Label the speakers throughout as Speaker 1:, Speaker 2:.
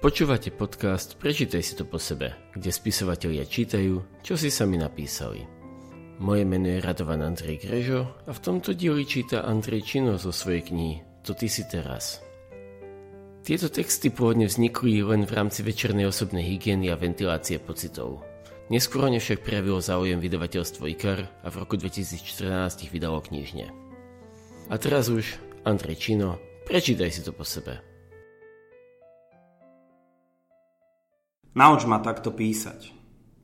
Speaker 1: Počúvate podcast Prečítaj si to po sebe, kde spisovatelia čítajú, čo si sami napísali. Moje meno je Radovan Andrej Grežo a v tomto dieli číta Andrej Čino zo svojej knihy To ty si teraz. Tieto texty pôvodne vznikli len v rámci večernej osobnej hygieny a ventilácie pocitov. Neskôr o ne však prejavilo záujem vydavateľstvo IKAR a v roku 2014 ich vydalo knižne. A teraz už Andrej Čino, prečítaj si to po sebe.
Speaker 2: Nauč ma takto písať.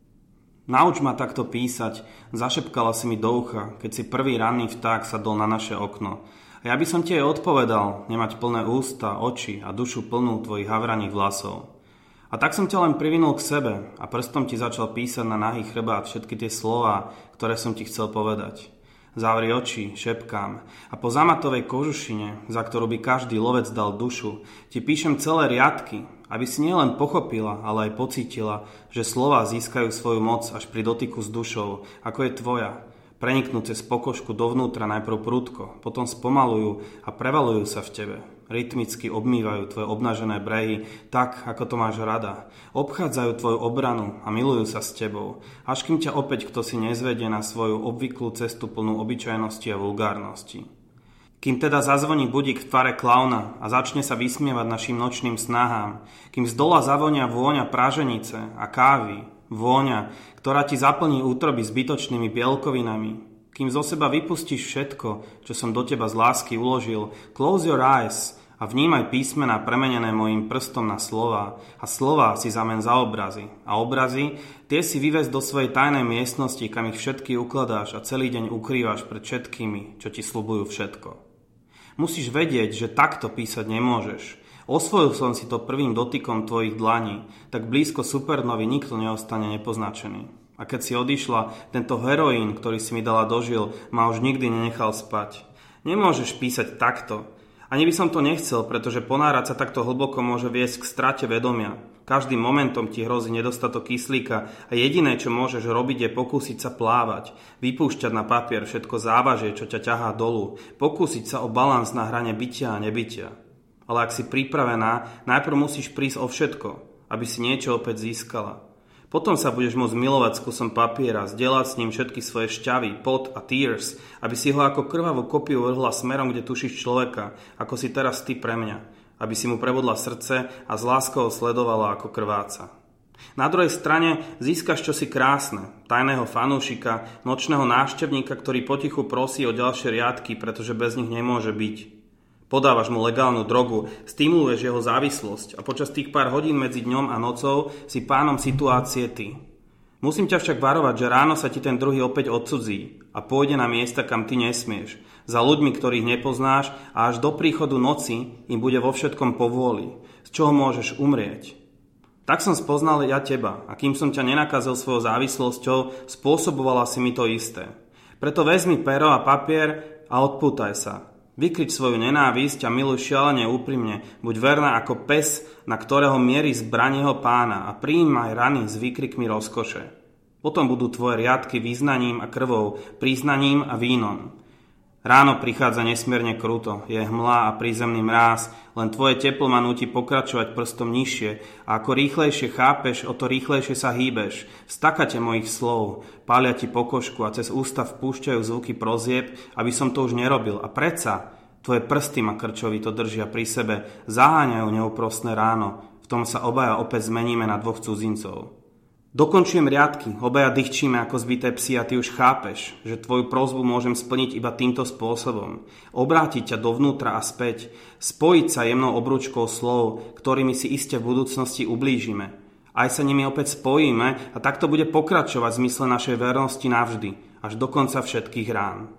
Speaker 2: Nauč ma takto písať, zašepkala si mi do ucha, keď si prvý ranný vták sadol na naše okno. A ja by som ti aj odpovedal, nemať plné ústa, oči a dušu plnú tvojich havraných vlasov. A tak som ťa len privinul k sebe a prstom ti začal písať na nahý chrbát všetky tie slová, ktoré som ti chcel povedať. Zavri oči, šepkám a po zamatovej kožušine, za ktorú by každý lovec dal dušu, ti píšem celé riadky, aby si nielen pochopila, ale aj pocítila, že slová získajú svoju moc až pri dotyku s dušou, ako je tvoja. Preniknú cez pokožku dovnútra najprv prudko, potom spomalujú a prevalujú sa v tebe. Rytmicky obmývajú tvoje obnažené brehy tak, ako to máš rada. Obchádzajú tvoju obranu a milujú sa s tebou, až kým ťa opäť kto si nezvedie na svoju obvyklú cestu plnú obyčajnosti a vulgárnosti. Kým teda zazvoní budík v tvare klauna a začne sa vysmievať našim nočným snahám, kým z dola zavonia vôňa praženice a kávy, vôňa, ktorá ti zaplní útroby zbytočnými bielkovinami, kým zo seba vypustíš všetko, čo som do teba z lásky uložil, close your eyes a vnímaj písmená premenené mojím prstom na slová a slová si zamen za obrazy. A obrazy, tie si vyvez do svojej tajnej miestnosti, kam ich všetky ukladáš a celý deň ukrývaš pred všetkými, čo ti sľubujú všetko. Musíš vedieť, že takto písať nemôžeš. Osvojil som si to prvým dotykom tvojich dlaní, tak blízko supernovy nikto neostane nepoznačený. A keď si odišla, tento heroín, ktorý si mi dala dožil, ma už nikdy nenechal spať. Nemôžeš písať takto. Ani by som to nechcel, pretože ponárať sa takto hlboko môže viesť k strate vedomia. Každým momentom ti hrozí nedostatok kyslíka a jediné, čo môžeš robiť, je pokúsiť sa plávať, vypúšťať na papier všetko závažie, čo ťa ťahá dolu, pokúsiť sa o balans na hrane bytia a nebytia. Ale ak si pripravená, najprv musíš prísť o všetko, aby si niečo opäť získala. Potom sa budeš môcť milovať s kusom papiera, zdieľať s ním všetky svoje šťavy, pot a tears, aby si ho ako krvavú kopiu vrhla smerom, kde tušíš človeka, ako si teraz ty pre mňa, aby si mu prebodla srdce a s láskou sledovala ako krváca. Na druhej strane získaš čosi krásne, tajného fanúšika, nočného návštevníka, ktorý potichu prosí o ďalšie riadky, pretože bez nich nemôže byť. Podávaš mu legálnu drogu, stimuluješ jeho závislosť a počas tých pár hodín medzi dňom a nocou si pánom situácie ty. Musím ťa však varovať, že ráno sa ti ten druhý opäť odcudzí a pôjde na miesta, kam ty nesmieš, za ľuďmi, ktorých nepoznáš a až do príchodu noci im bude vo všetkom povôli, z čoho môžeš umrieť. Tak som spoznal ja teba a kým som ťa nenakazil svojou závislosťou, spôsobovala si mi to isté. Preto vezmi pero a papier a odpútaj sa. Vykrič svoju nenávisť a miluj šialene úprimne, buď verná ako pes, na ktorého mierí zbraň jeho pána a prijímaj rany s výkrikmi rozkoše. Potom budú tvoje riadky význaním a krvou, priznaním a vínom. Ráno prichádza nesmierne kruto, je hmla a prízemný mráz, len tvoje teplo ma núti pokračovať prstom nižšie a ako rýchlejšie chápeš, o to rýchlejšie sa hýbeš. V stakate mojich slov pália ti pokožku a cez ústa vpúšťajú zvuky prozieb, aby som to už nerobil. A predsa tvoje prsty ma krčovito držia pri sebe, zaháňajú neúprosné ráno. V tom sa obaja opäť zmeníme na dvoch cudzincov. Dokončujem riadky, obaja dychčíme ako zbité psi a ty už chápeš, že tvoju prosbu môžem splniť iba týmto spôsobom. Obrátiť ťa dovnútra a späť, spojiť sa jemnou obručkou slov, ktorými si iste v budúcnosti ublížime. Aj sa nimi opäť spojíme a takto bude pokračovať v zmysle našej vernosti navždy, až do konca všetkých rán.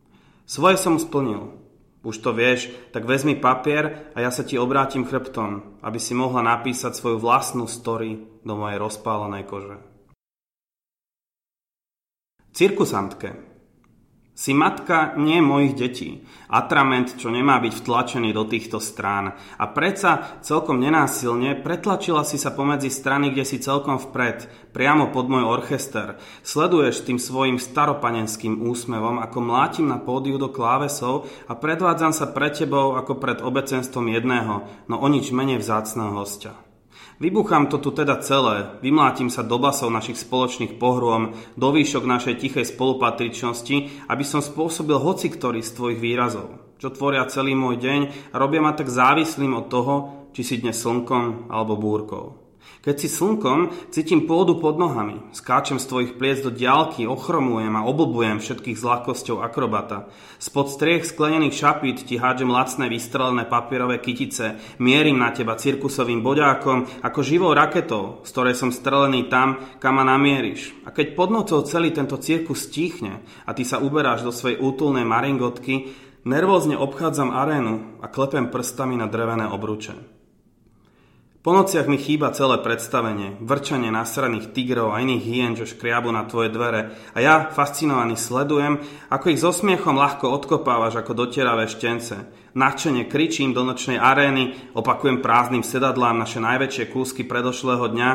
Speaker 2: Svoje som splnil. Už to vieš, tak vezmi papier a ja sa ti obrátim chrbtom, aby si mohla napísať svoju vlastnú story do mojej rozpálenej kože. Cirkusantke. Si matka nie mojich detí, atrament, čo nemá byť vtlačený do týchto strán. A predsa celkom nenásilne pretlačila si sa pomedzi strany, kde si celkom vpred, priamo pod môj orchester. Sleduješ tým svojim staropanenským úsmevom, ako mlátim na pódiu do klávesov a predvádzam sa pred tebou ako pred obecenstvom jedného, no o nič menej vzácneho hostia. Vybuchám to tu teda celé, vymlátim sa do basov našich spoločných pohrôm, do výšok našej tichej spolupatričnosti, aby som spôsobil hocikorý z tvojich výrazov, čo tvoria celý môj deň a robia ma tak závislým od toho, či si dnes slnkom alebo búrkou. Keď si slnkom, cítim pôdu pod nohami, skáčem z tvojich pliec do diaľky, ochromujem a oblbujem všetkých s ľahkosťou akrobata. Spod striech sklenených šapít ti hádžem lacné vystrelené papierové kytice, mierim na teba cirkusovým boďákom ako živou raketou, z ktorej som strelený tam, kam ma namieríš. A keď pod nocou celý tento cirkus stíchne a ty sa uberáš do svojej útulnej maringotky, nervózne obchádzam arénu a klepem prstami na drevené obruče. Po nociach mi chýba celé predstavenie, vrčanie nasraných tigrov a iných hyen, čo škriabu na tvoje dvere a ja, fascinovaný, sledujem, ako ich so smiechom ľahko odkopávaš ako dotieravé štence. Nadšene kričím do nočnej arény, opakujem prázdnym sedadlám naše najväčšie kúsky predošlého dňa.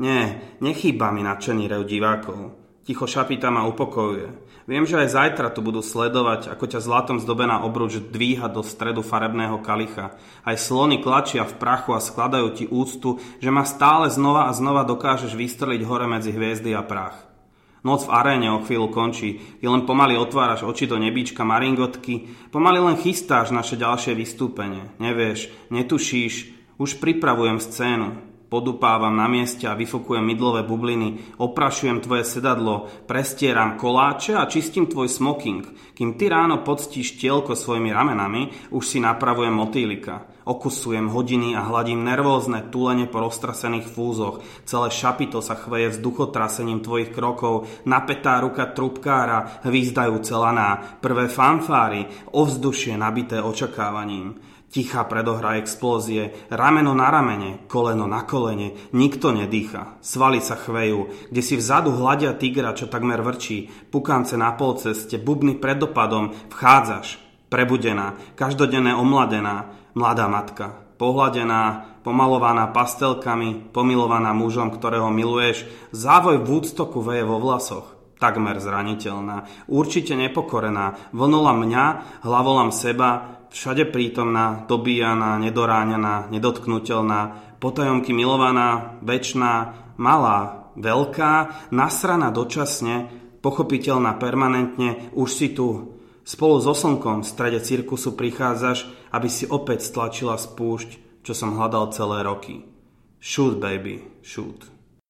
Speaker 2: Nechýba mi nadšený rev divákov. Ticho šapita ma upokojuje. Viem, že aj zajtra tu budú sledovať, ako ťa zlatom zdobená obruč dvíha do stredu farebného kalicha. Aj slony klačia v prachu a skladajú ti úctu, že ma stále znova a znova dokážeš vystreliť hore medzi hviezdy a prach. Noc v aréne o chvíľu končí, ty len pomaly otváraš oči do nebíčka maringotky, pomaly len chystáš naše ďalšie vystúpenie. Nevieš, netušíš, už pripravujem scénu. Podupávam na mieste a vyfokujem mydlové bubliny, oprašujem tvoje sedadlo, prestieram koláče a čistím tvoj smoking. Kým ty ráno poctíš tielko svojimi ramenami, už si napravujem motýlika. Okusujem hodiny a hladím nervózne tulene po roztrasených fúzoch. Celé šapito sa chveje vzduchotrasením tvojich krokov, napätá ruka trubkára, hvízdajúce laná, prvé fanfáry, ovzdušie nabité očakávaním. Tichá predohra explózie, rameno na ramene, koleno na kolene, nikto nedýcha. Svaly sa chvejú, kde si vzadu hľadia tigra, čo takmer vrčí, pukance na polceste, bubny pred dopadom, vchádzaš, prebudená, každodenné omladená, mladá matka, pohladená, pomalovaná pastelkami, pomilovaná mužom, ktorého miluješ, závoj Woodstocku veje vo vlasoch. Takmer zraniteľná, určite nepokorená, vlnula mňa, hlavolam seba, všade prítomná, dobíjaná, nedoráňaná, nedotknutelná, potajomky milovaná, večná, malá, veľká, nasraná dočasne, pochopiteľná permanentne, už si tu. Spolu so slnkom v strede cirkusu prichádzaš, aby si opäť stlačila spúšť, čo som hľadal celé roky. Shoot, baby, shoot.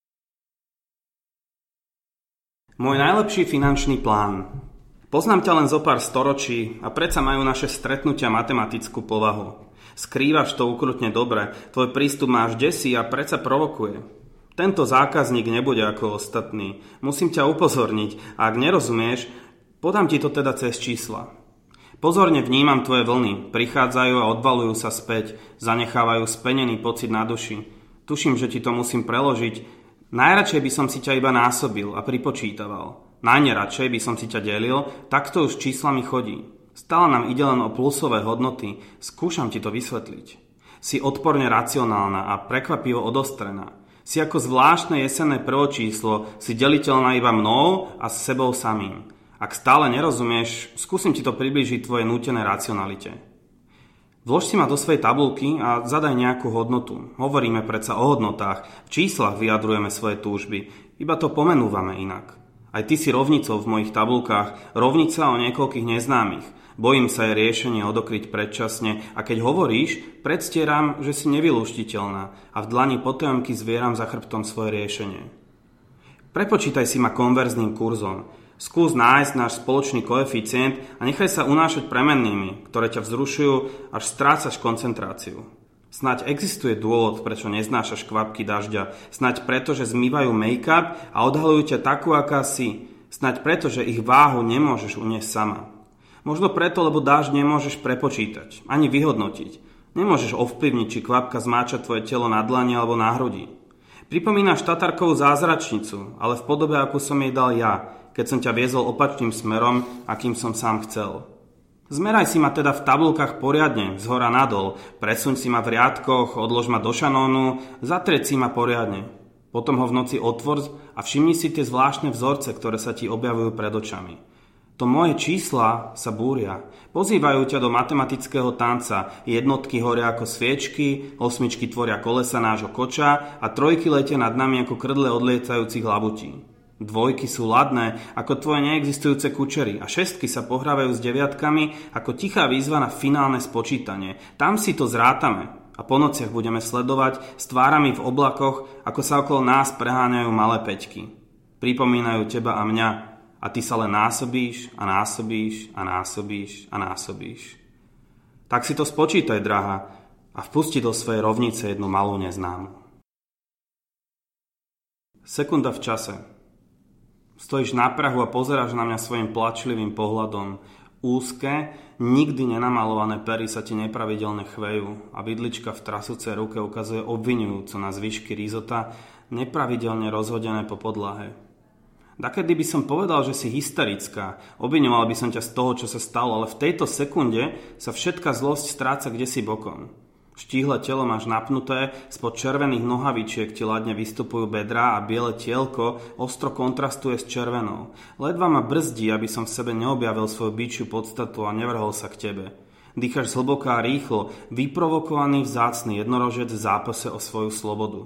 Speaker 2: Môj najlepší finančný plán. Poznám ťa len zo pár storočí a predsa majú naše stretnutia matematickú povahu. Skrývaš to ukrutne dobre, tvoj prístup ma až desí a predsa provokuje. Tento zákazník nebude ako ostatný. Musím ťa upozorniť a ak nerozumieš, podám ti to teda cez čísla. Pozorne vnímam tvoje vlny, prichádzajú a odvalujú sa späť, zanechávajú spenený pocit na duši. Tuším, že ti to musím preložiť. Najradšej by som si ťa iba násobil a pripočítaval. Najneradšej by som si ťa delil, takto už číslami chodí. Stále nám ide len o plusové hodnoty, skúšam ti to vysvetliť. Si odporne racionálna a prekvapivo odostrená. Si ako zvláštne jesenné prvočíslo, si deliteľná iba mnou a s sebou samým. Ak stále nerozumieš, skúsim ti to priblížiť tvojej nútenej racionalite. Vlož si ma do svojej tabulky a zadaj nejakú hodnotu. Hovoríme predsa o hodnotách, v číslach vyjadrujeme svoje túžby, iba to pomenúvame inak. Aj ty si rovnicou v mojich tabulkách, rovnica o niekoľkých neznámych. Bojím sa jej riešenie odokryť predčasne a keď hovoríš, predstieram, že si nevylúštiteľná a v dlani potajomky zvieram za chrbtom svoje riešenie. Prepočítaj si ma konverzným kurzom. Skús nájsť náš spoločný koeficient a nechaj sa unášať premennými, ktoré ťa vzrušujú, až strácaš koncentráciu. Snáď existuje dôvod, prečo neznášaš kvapky dažďa. Snáď preto, že zmývajú make-up a odhalujú ťa takú, aká si. Snáď preto, že ich váhu nemôžeš uniesť sama. Možno preto, lebo dážď nemôžeš prepočítať, ani vyhodnotiť. Nemôžeš ovplyvniť, či kvapka zmáča tvoje telo na dlani alebo na hrudi. Pripomínaš tatarkovú zázračnicu, ale v podobe, akú som jej dal ja, keď som ťa viezol opačným smerom, akým som sám chcel. Zmeraj si ma teda v tabulkách poriadne, zhora nadol, presuň si ma v riadkoch, odlož ma do šanónu, zatrieť si ma poriadne. Potom ho v noci otvor a všimni si tie zvláštne vzorce, ktoré sa ti objavujú pred očami. To moje čísla sa búria. Pozývajú ťa do matematického tanca. Jednotky horia ako sviečky, osmičky tvoria kolesa nášho koča a trojky letia nad nami ako krdle odlietajúcich labutí. Dvojky sú ladné ako tvoje neexistujúce kučery a šestky sa pohrávajú s deviatkami ako tichá výzva na finálne spočítanie. Tam si to zrátame a po nociach budeme sledovať s tvárami v oblakoch, ako sa okolo nás preháňajú malé peťky. Pripomínajú teba a mňa a ty sa len násobíš a násobíš a násobíš a násobíš. Tak si to spočítaj, drahá, a vpusti do svojej rovnice jednu malú neznámu. Sekunda v čase. Stojíš na prahu a pozeráš na mňa svojim plačlivým pohľadom. Úzke, nikdy nenamalované pery sa ti nepravidelne chvejú a vidlička v trasúcej ruke ukazuje obviňujúco na zvyšky risota, nepravidelne rozhodené po podlahe. Dakedy by som povedal, že si hysterická, obviňoval by som ťa z toho, čo sa stalo, ale v tejto sekunde sa všetká zlosť stráca kdesi bokom. Štíhle telo máš napnuté, spod červených nohavičiek ti ladne vystupujú bedrá a biele tielko ostro kontrastuje s červenou. Ledva ma brzdí, aby som v sebe neobjavil svoju bičiu podstatu a nevrhol sa k tebe. Dýchaš zhlboká a rýchlo, vyprovokovaný vzácny jednorožec v zápase o svoju slobodu.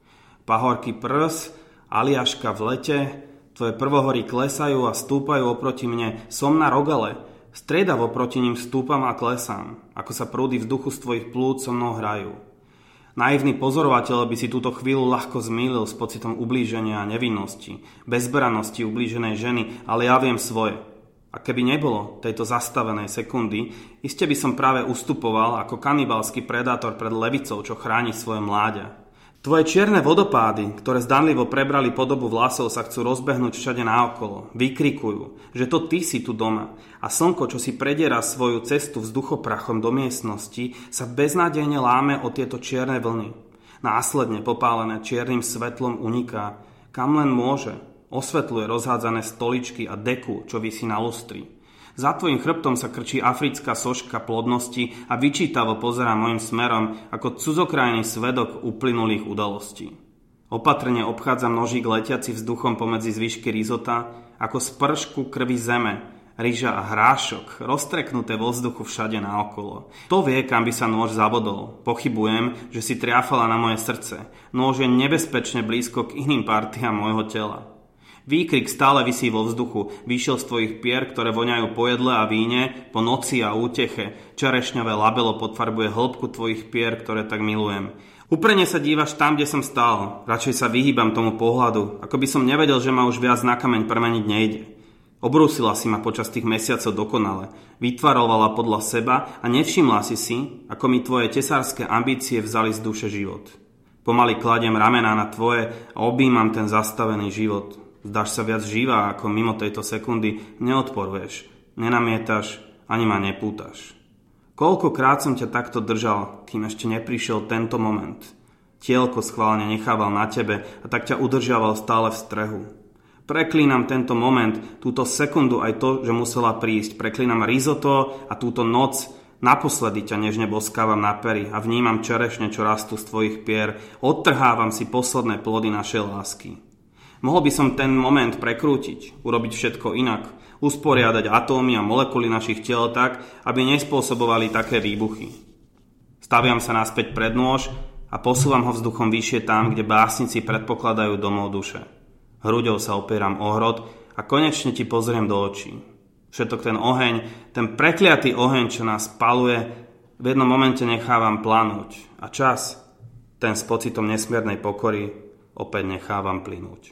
Speaker 2: Pahorky prs, aliaška v lete, tvoje prvohory klesajú a stúpajú oproti mne, som na rogale. Striedavo proti ním stúpam a klesám, ako sa prúdy vzduchu z tvojich plúc so mnou hrajú. Naivný pozorovateľ by si túto chvíľu ľahko zmýlil s pocitom ublíženia a nevinnosti, bezbranosti ublíženej ženy, ale ja viem svoje. A keby nebolo tejto zastavenej sekundy, iste by som práve ustupoval ako kanibalský predátor pred levicou, čo chráni svoje mláďa. Tvoje čierne vodopády, ktoré zdanlivo prebrali podobu vlasov, sa chcú rozbehnúť všade naokolo. Vykrikujú, že to ty si tu doma. A slnko, čo si prediera svoju cestu vzduchoprachom do miestnosti, sa beznádejne láme o tieto čierne vlny. Následne popálené čiernym svetlom uniká, kam len môže. Osvetľuje rozhádzané stoličky a deku, čo visí na lustri. Za tvojim chrbtom sa krčí africká soška plodnosti a vyčítavo pozerá mojim smerom ako cudzokrajný svedok uplynulých udalostí. Opatrne obchádzam nožík letiaci vzduchom pomedzi zvyšky risota ako spršku krvi zeme, ryža a hrášok, roztreknuté vo vzduchu všade naokolo. To vie, kam by sa nôž zabodol. Pochybujem, že si triafala na moje srdce. Nôž je nebezpečne blízko k iným partiám môjho tela. Výkrik stále visí vo vzduchu, vyšiel z tvojich pier, ktoré voňajú po jedle a víne, po noci a úteche. Čerešňové labelo podfarbuje hĺbku tvojich pier, ktoré tak milujem. Uprene sa dívaš tam, kde som stál. Radšej sa vyhýbam tomu pohľadu, ako by som nevedel, že ma už viac na kameň premeniť nejde. Obrúsila si ma počas tých mesiacov dokonale, vytvarovala podľa seba a nevšimla si, ako mi tvoje tesárske ambície vzali z duše život. Pomaly kladiem ramená na tvoje a objímam ten zastavený život. Zdáš sa viac živá, ako mimo tejto sekundy neodporuješ, nenamietaš, ani ma nepútaš. Koľkokrát som ťa takto držal, kým ešte neprišiel tento moment. Tielko schválne nechával na tebe a tak ťa udržiaval stále v strehu. Preklínam tento moment, túto sekundu aj to, že musela prísť. Preklínam risotto a túto noc. Naposledy ťa nežne boskávam na pery a vnímam čerešne, čo rastú z tvojich pier. Odtrhávam si posledné plody našej lásky. Mohol by som ten moment prekrútiť, urobiť všetko inak, usporiadať atómy a molekuly našich tiel tak, aby nespôsobovali také výbuchy. Staviam sa naspäť pred nôž a posúvam ho vzduchom vyššie tam, kde básnici predpokladajú domov duše. Hruďou sa opieram o hrot a konečne ti pozriem do očí. Všetok ten oheň, ten prekliatý oheň, čo nás paluje, v jednom momente nechávam planúť a čas, ten s pocitom nesmiernej pokory, opäť nechávam plynúť.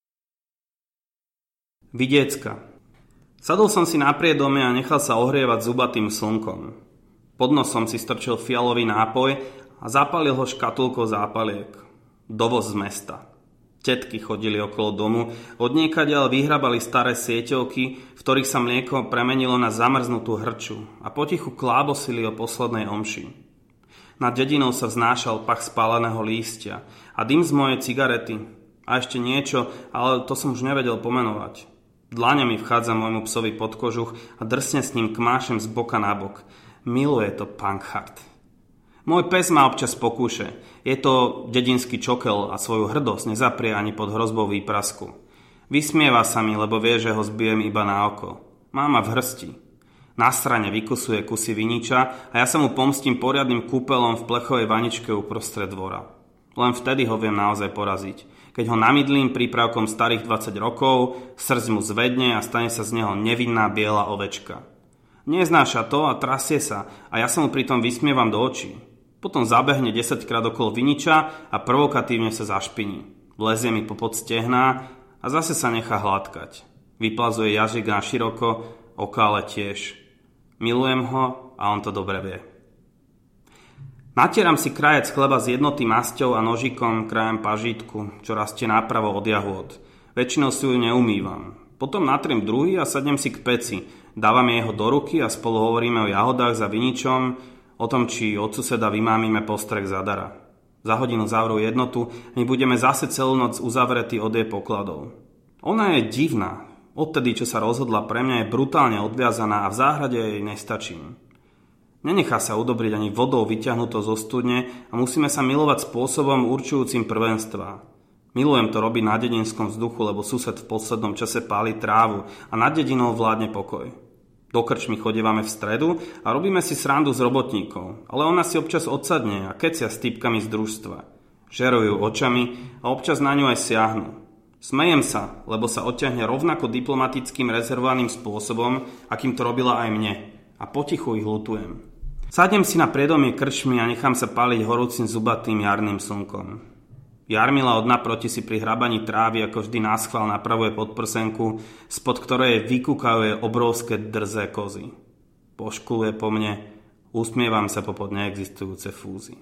Speaker 2: Vidiecka. Sadol som si na priedome a nechal sa ohrievať zubatým slnkom. Pod nosom si strčil fialový nápoj a zapálil ho škatulkou zápaliek. Dovoz z mesta. Tetky chodili okolo domu, odniekadiaľ vyhrabali staré sieťovky, v ktorých sa mlieko premenilo na zamrznutú hrču a potichu klábosili o poslednej omši. Nad dedinou sa vznášal pach spáleného lístia a dym z mojej cigarety. A ešte niečo, ale to som už nevedel pomenovať. Dlaňami vchádza môjmu psovi pod kožuch a drsne s ním kmášem z boka na bok. Miluje to Pankhard. Môj pes ma občas pokúše. Je to dedinský čokel a svoju hrdosť nezaprie ani pod hrozbou výprasku. Vysmieva sa mi, lebo vie, že ho zbijem iba na oko. Máma v hrsti. Nasrane vykusuje kusy viniča a ja sa mu pomstím poriadnym kúpelom v plechovej vaničke uprostred dvora. Len vtedy ho viem naozaj poraziť. Keď ho namydlím prípravkom starých 20 rokov, srdc mu zvedne a stane sa z neho nevinná biela ovečka. Neznáša to a trasie sa a ja sa mu pritom vysmievam do očí. Potom zabehne 10-krát okolo viniča a provokatívne sa zašpiní. Vlezie mi popod stehná a zase sa nechá hladkať. Vyplazuje jazyk na široko, okále tiež. Milujem ho a on to dobre vie. Natieram si krajec chleba s jednotým masťou a nožikom krajem pažítku, čo rastie nápravo od jahôd. Väčšinou si ju neumývam. Potom natriem druhý a sadnem si k peci. Dávame jeho do ruky a spolu hovoríme o jahodách za viničom, o tom, či od suseda vymámime postreh zadara. Za hodinu zavrú jednotu a my budeme zase celú noc uzavretí od jej pokladov. Ona je divná. Odtedy, čo sa rozhodla pre mňa, je brutálne odviazaná a v záhrade jej nestačím. Nenechá sa udobriť ani vodou vyťahnutou zo studne a musíme sa milovať spôsobom určujúcim prvenstvá. Milujem to robiť na dedinskom vzduchu, lebo sused v poslednom čase páli trávu a nad dedinou vládne pokoj. Do krčmy chodievame v stredu a robíme si srandu z robotníkov, ale ona si občas odsadne a kecia s typkami z družstva. Žerujú očami a občas na ňu aj siahnu. Smejem sa, lebo sa odťahne rovnako diplomatickým rezervovaným spôsobom, akým to robila aj mne. A potichu ich ľutujem. Sadnem si na priedomie krčmy a nechám sa páliť horúcim zubatým jarným slnkom. Jarmila od naproti si pri hrabaní trávy ako vždy náschvál napravuje podprsenku, spod ktorej vykúkavuje obrovské drzé kozy. Poškuluje po mne, usmievam sa popod neexistujúce fúzy.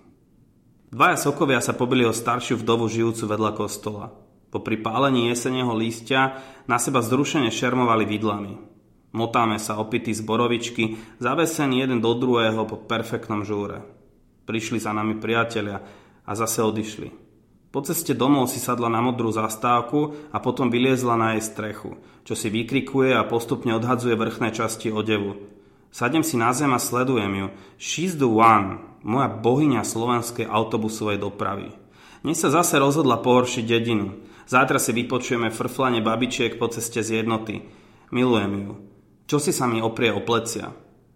Speaker 2: Dvaja sokovia sa pobili o staršiu vdovu žijúcu vedľa kostola. Popri pálení jeseného lístia na seba zrušene šermovali vidlami. Motáme sa opití z borovičky, zavesení jeden do druhého po perfektnom žúre. Prišli za nami priatelia a zase odišli. Po ceste domov si sadla na modrú zastávku a potom vyliezla na jej strechu, čo si vykrikuje a postupne odhadzuje vrchné časti odevu. Sadnem si na zem a sledujem ju. She's the one, moja bohyňa slovenskej autobusovej dopravy. Dnes sa zase rozhodla pohoršiť dedinu. Zajtra si vypočujeme frflanie babičiek po ceste z jednoty. Milujem ju. Čo si sa mi oprie o plecia?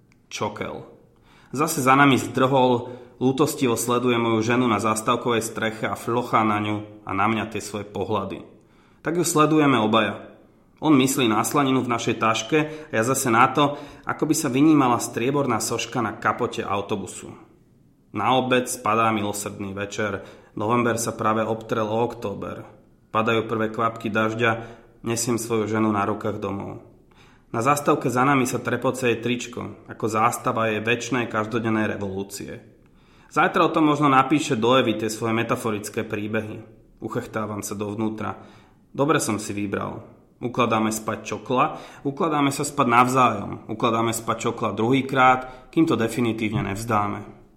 Speaker 2: Čokel. Zase za nami zdrhol, ľútostivo sleduje moju ženu na zástavkovej streche a flochá na ňu a na mňa tie svoje pohľady. Tak ju sledujeme obaja. On myslí na slaninu v našej taške a ja zase na to, ako by sa vynímala strieborná soška na kapote autobusu. Na obed spadá milosrdný večer. November sa práve obtrel o október. Padajú prvé kvapky dažďa, nesiem svoju ženu na rukách domov. Na zástavke za nami sa trepoce jej tričko, ako zástava jej večnej každodennej revolúcie. Zajtra o tom možno napíše do Evy tie svoje metaforické príbehy. Uchechtávam sa dovnútra. Dobre som si vybral. Ukladáme spať čokla, ukladáme sa spať navzájom, ukladáme spať čokla druhýkrát, kým to definitívne nevzdáme.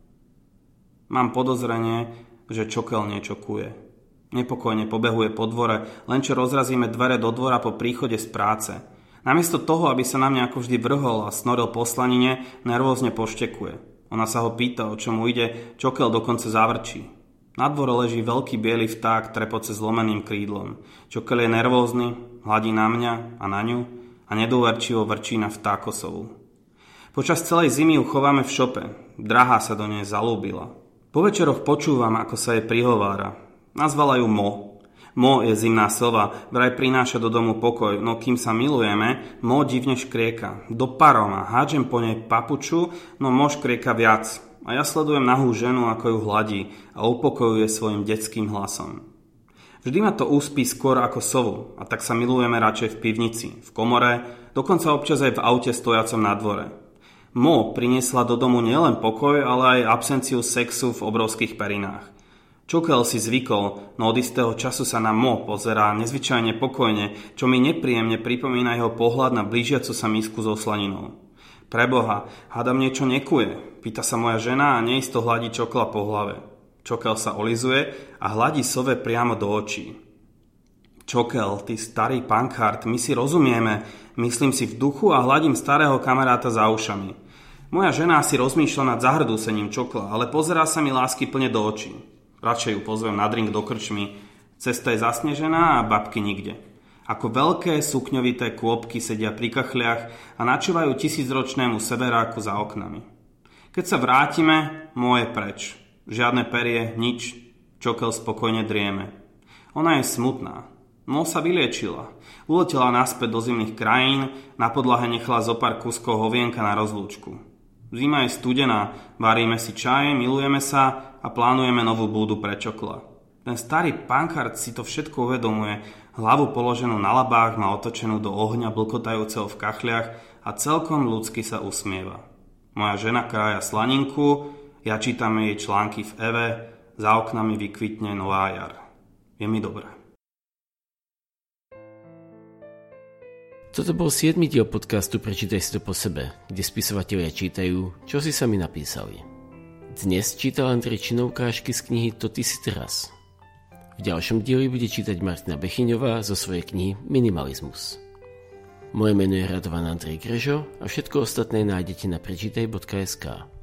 Speaker 2: Mám podozrenie, že čokel niečo kuje. Nepokojne pobehuje po dvore, len čo rozrazíme dvere do dvora po príchode z práce. Namiesto toho, aby sa na mňa ako vždy vrhol a snoril po slanine, nervózne poštekuje. Ona sa ho pýta, o čo mu ide, čokel dokonca zavrčí. Na dvore leží veľký biely vták trepoce zlomeným krídlom. Čokel je nervózny, hladí na mňa a na ňu a nedôverčivo vrčí na vtákosovu. Počas celej zimy ju chováme v šope. Drahá sa do nej zalúbila. Po večeroch počúvam, ako sa jej prihovára. Nazvala ju Mo. Mo je zimná sova, vraj prináša do domu pokoj, no kým sa milujeme, Mo divne škrieka. Do paroma, hádžem po nej papuču, no Mo škrieka viac. A ja sledujem nahú ženu, ako ju hladí a upokojuje svojim detským hlasom. Vždy ma to uspí skôr ako sovu, a tak sa milujeme radšej v pivnici, v komore, dokonca občas aj v aute stojacom na dvore. Mo priniesla do domu nielen pokoj, ale aj absenciu sexu v obrovských perinách. Čokel si zvykol, no od istého času sa na Mo pozerá nezvyčajne pokojne, čo mi nepríjemne pripomína jeho pohľad na blížiacu sa misku so slaninou. Preboha, hádam niečo nekuje, pýta sa moja žena a neisto hladí čokla po hlave. Čokel sa olizuje a hladí sove priamo do očí. Čokel, ty starý pankart, my si rozumieme, myslím si v duchu a hladím starého kamaráta za ušami. Moja žena si rozmýšľa nad zahrdúsením čokla, ale pozerá sa mi lásky plne do očí. Radšej ju pozvem na drink do krčmy. Cesta je zasnežená a babky nikde. Ako veľké sukňovité kôpky sedia pri kachliach a načúvajú 1000-ročnému severáku za oknami. Keď sa vrátime, môj je preč. Žiadne perie, nič. Čokel spokojne drieme. Ona je smutná. Sa vyliečila. Uletela naspäť do zimných krajín, na podlahe nechala zo pár kuskov hovienka na rozlúčku. Zima je studená, varíme si čaj, milujeme sa a plánujeme novú búdu pre Čokla. Ten starý pankart si to všetko uvedomuje, hlavu položenú na labách má otočenú do ohňa blkotajúceho v kachliach a celkom ľudsky sa usmieva. Moja žena krája slaninku, ja čítam jej články v Eve, za oknami vykvitne nová jar. Je mi dobré.
Speaker 1: Toto bol 7. diel podcastu Prečítaj si to po sebe, kde spisovatelia čítajú, čo si sami napísali. Dnes čítal Andrej Čino ukážky z knihy To ty si teraz. V ďalšom dieli bude čítať Martina Bechyňová zo svojej knihy Minimalizmus. Moje meno je Radovan Andrej Grežo a všetko ostatné nájdete na prečítaj.sk.